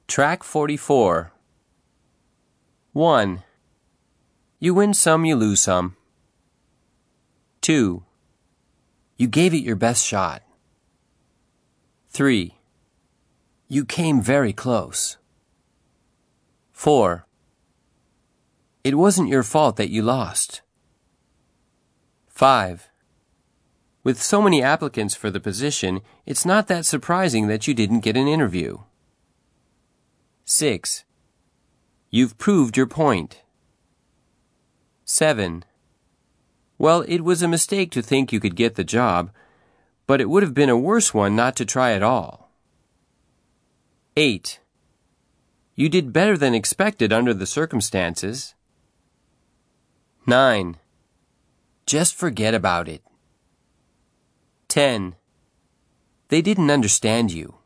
Track 44. 1. You win some, you lose some. 2. You gave it your best shot. 3. You came very close. 4. It wasn't your fault that you lost. 5. With so many applicants for the position, it's not that surprising that you didn't get an interview. 6. You've proved your point. 7. Well, it was a mistake to think you could get the job, but it would have been a worse one not to try at all. 8. You did better than expected under the circumstances. 9. Just forget about it. 10. They didn't understand you.